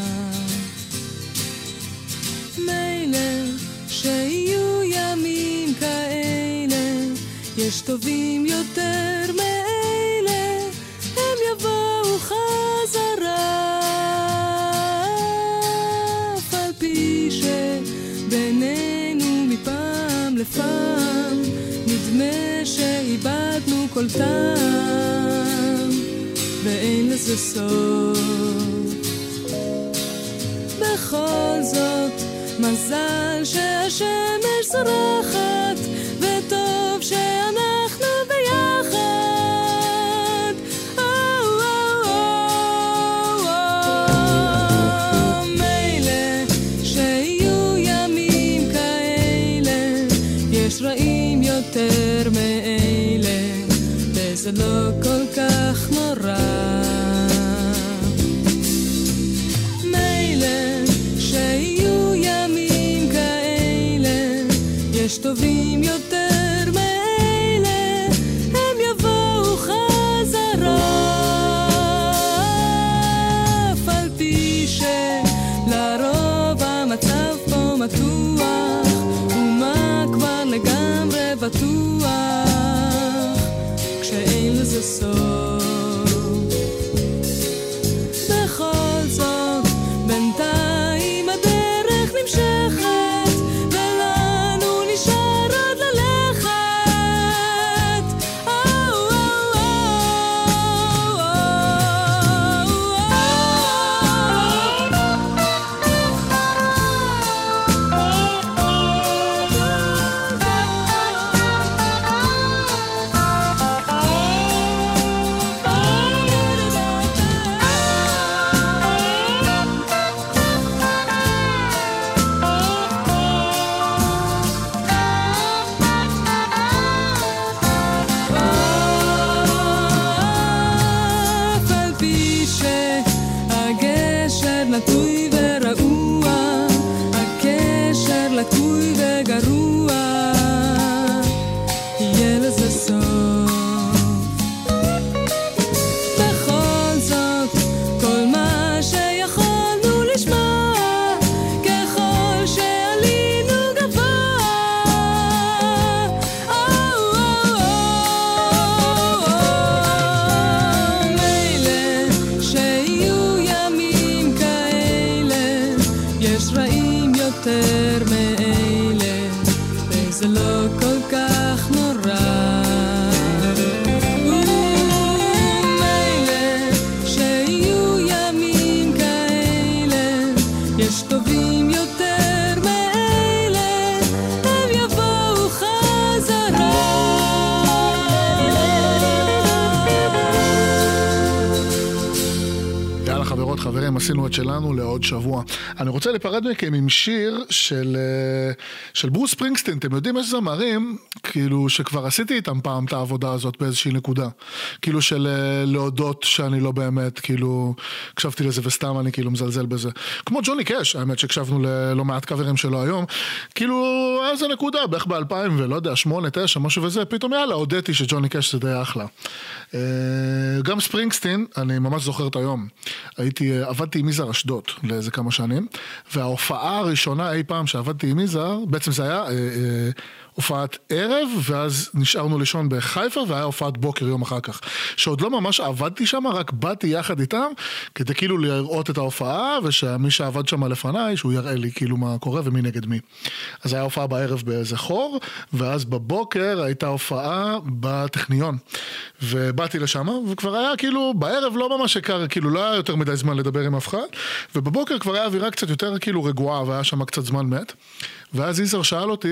מילא שיהיו ימים כאלה, יש טובים יותר מאלה, הם יבואו חזרה. אף על פי שבינינו מפעם לפעם נדמה שאיבדנו כל טעם, ואין לזה סוף. בכל זאת מזל שהשמש זורחת, וטוב שאנחנו ביחד. מילא שיהיו ימים כאלה, יש רעים יותר מאלה, וזה לא כל כך נורא. יש טובים יותר מאלה, הם יבואו חזרה. אף על פי שלרוב המצב פה מתוח, ומה כבר לגמרי בטוח, כשאין לזה סוף. בכל זאת בינתיים הדרך נמשכת, עשינו את שלנו לעוד שבוע. אני רוצה לפרד מכם עם שיר של, של ברוס ספרינגסטין. אתם יודעים, יש זמרים, כאילו, שכבר עשיתי איתם פעם את העבודה הזאת באיזושהי נקודה. כאילו של להודות שאני לא באמת, כאילו, הקשבתי לזה וסתם אני כאילו מזלזל בזה. כמו ג'וני קאש, האמת שהקשבנו ללא מעט קאברים שלו היום. כאילו, איזה נקודה, בערך ב-אלפיים ולא יודע, שמונה, תשע, משהו וזה, פתאום יאללה, הודיתי שג'וני קאש זה די אחלה. גם ספרינגסטין, אני ממש זוכר את היום. הייתי, עבדתי עם יזהר אשדוד לאיזה כמה שנים, וההופעה הראשונה אי פעם שעבדתי עם יזהר, בעצם זה היה אה, אה, הופעת ערב, ואז נשארנו לישון בחיפה, והיה הופעת בוקר יום אחר כך. שעוד לא ממש עבדתי שם, רק באתי יחד איתם, כדי כאילו לראות את ההופעה, ושמי שעבד שם לפניי, שהוא יראה לי כאילו מה קורה ומי נגד מי. אז היה הופעה בערב באיזה חור, ואז בבוקר הייתה הופעה בטכניון. ובאתי לשם, וכבר היה כאילו, בערב לא ממש שקר, כאילו לא היה יותר מדי זמן לדבר עם אף אחד, ובבוקר כבר היה אווירה קצת יותר כאילו רגועה, והיה שם קצת זמן מת. ואז איזר שאל אותי,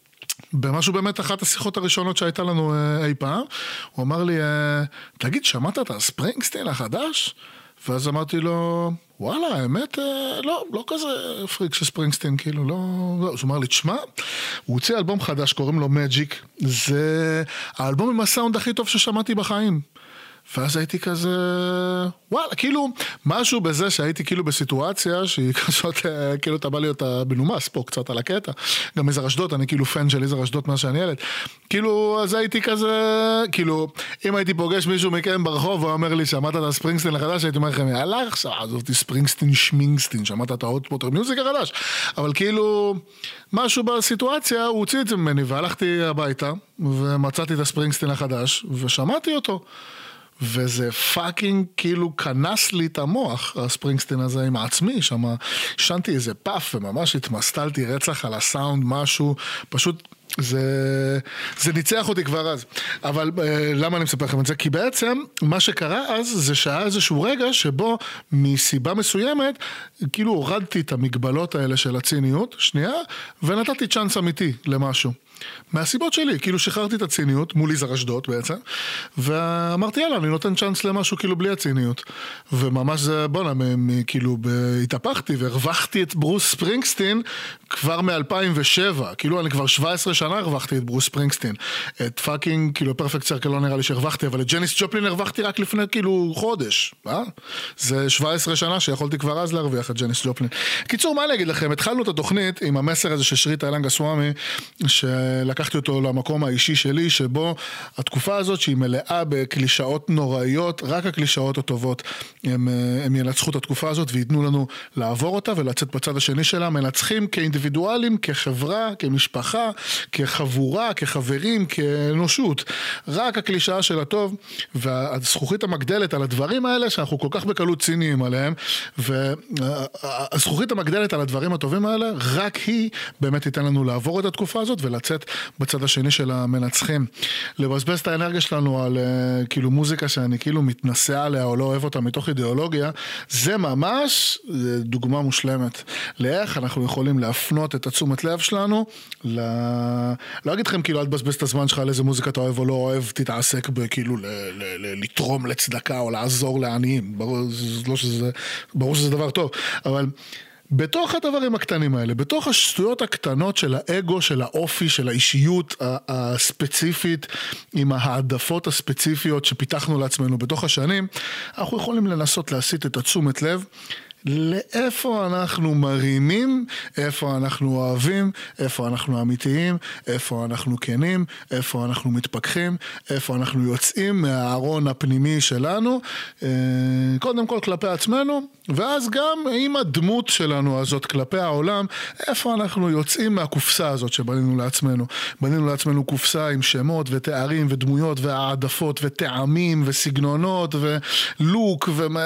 במשהו באמת אחת השיחות הראשונות שהייתה לנו אי פעם, הוא אמר לי, תגיד, שמעת את הספרינגסטין החדש? ואז אמרתי לו, וואלה, האמת, לא, לא כזה פריק של ספרינגסטין, כאילו, לא, לא. הוא אמר לי, תשמע, הוא הוציא אלבום חדש, קוראים לו מג'יק, זה האלבום עם הסאונד הכי טוב ששמעתי בחיים. ואז הייתי כזה, וואלה, כאילו, משהו בזה שהייתי כאילו בסיטואציה שהיא כזאת, כאילו אתה בא להיות בנומס פה קצת על הקטע, גם איזר אשדוד, אני כאילו פן של איזר אשדוד מה שאני ילד, כאילו, אז הייתי כזה, כאילו, אם הייתי פוגש מישהו מכם ברחוב, הוא אומר לי, שמעת את הספרינגסטין החדש, הייתי אומר לכם, יאללה, עכשיו, עזובתי ספרינגסטין שמינגסטין, שמעת את האוטפוטר מיוזיק החדש, אבל כאילו, משהו בסיטואציה, הוא הוציא את זה ממני, והלכתי הביתה, ומצאתי את הספרינגסטין החדש, ושמעתי אותו. וזה פאקינג כאילו כנס לי את המוח, הספרינגסטין הזה עם עצמי, שם שנתי איזה פאף וממש התמסטלתי רצח על הסאונד, משהו, פשוט זה, זה ניצח אותי כבר אז. אבל למה אני מספר לכם את זה? כי בעצם מה שקרה אז זה שהיה איזשהו רגע שבו מסיבה מסוימת כאילו הורדתי את המגבלות האלה של הציניות, שנייה, ונתתי צ'אנס אמיתי למשהו. מהסיבות שלי, כאילו שחררתי את הציניות מול איזר אשדוד בעצם, ואמרתי יאללה, אני נותן צ'אנס למשהו כאילו בלי הציניות. וממש זה, בונה, כאילו התהפכתי והרווחתי את ברוס ספרינגסטין כבר מ-אלפיים ושבע, כאילו אני כבר שבע עשרה שנה הרווחתי את ברוס ספרינגסטין. את פאקינג, כאילו פרפקט סרקל לא נראה לי שהרווחתי, אבל את ג'ניס ג'ופלין הרווחתי רק לפני כאילו חודש, אה? זה שבע עשרה שנה שיכולתי כבר אז להרוויח את ג'ניס ג'ופלין. קיצור, מה אני אגיד לכם? התחלנו את התוכנית עם המסר הזה ששרית איילנגה סוואמי, שלקחתי אותו למקום האישי שלי, שבו התקופה הזאת שהיא מלאה בקלישאות נוראיות, רק הקלישאות הטובות הם, הם ינצחו את התקופה הזאת ויתנו לנו לעבור אותה ולצאת בצד השני שלה, מנצחים כאינדיבידואלים, כחברה, כמשפחה, כחבורה, כחברים, כאנושות. רק הקלישאה של הטוב והזכוכית המגדלת על הדברים האלה שאנחנו כל כך בקלות ציניים עליהם, והזכוכית המגדלת על הדברים הטובים האלה, רק היא באמת תיתן לנו לעבור את התקופה הזאת ולצאת בצד השני של המנצחים. לבזבז את האנרגיה שלנו על uh, כאילו מוזיקה שאני כאילו מתנסה עליה או לא אוהב אותה מתוך אידיאולוגיה, זה ממש דוגמה מושלמת לאיך אנחנו יכולים להפנות את התשומת לב שלנו ל... לא אגיד לכם כאילו אל תבזבז את הזמן שלך על איזה מוזיקה אתה אוהב או לא אוהב, תתעסק בכאילו ל... ל... ל... לתרום לצדקה או לעזור לעניים, ברור, לא שזה... ברור שזה דבר טוב, אבל בתוך הדברים הקטנים האלה, בתוך השטויות הקטנות של האגו, של האופי, של האישיות הספציפית, עם העדפות הספציפיות שפיתחנו לעצמנו בתוך השנים, אנחנו יכולים לנסות להסיט את התשומת לב לאיפה אנחנו מרימים, איפה אנחנו אוהבים, איפה אנחנו אמיתיים, איפה אנחנו כנים, איפה אנחנו מתפכחים, איפה אנחנו יוצאים מהארון הפנימי שלנו, קודם כל כלפי עצמנו, ואז גם עם הדמות שלנו הזאת כלפי העולם, איפה אנחנו יוצאים מהקופסה הזאת שבנינו לעצמנו. בנינו לעצמנו קופסה עם שמות ותארים ודמויות והעדפות וטעמים וסגנונות ולוק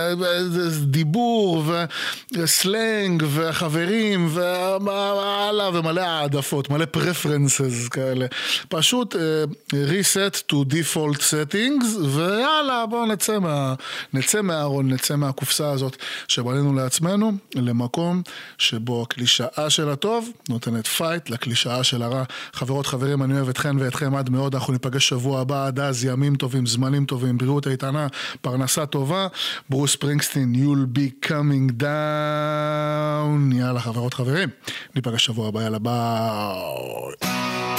ודיבור וסלנג וחברים ומעלה ומלא העדפות, מלא preferences כאלה. פשוט uh, reset to default settings, ויאללה בואו נצא מה, נצא מהארון, נצא מהקופסה הזאת שבנינו לעצמנו, למקום שבו הקלישאה של הטוב נותנת פייט לקלישאה של הרע. חברות, חברים, אני אוהב אתכן ואתכם עד מאוד, אנחנו ניפגש שבוע הבא, עד אז ימים טובים, זמנים טובים, בריאות איתנה, פרנסה טובה. ברוס ספרינגסטין, you'll be coming down. יאללה חברות, חברים, ניפגש שבוע הבא, יאללה ביי.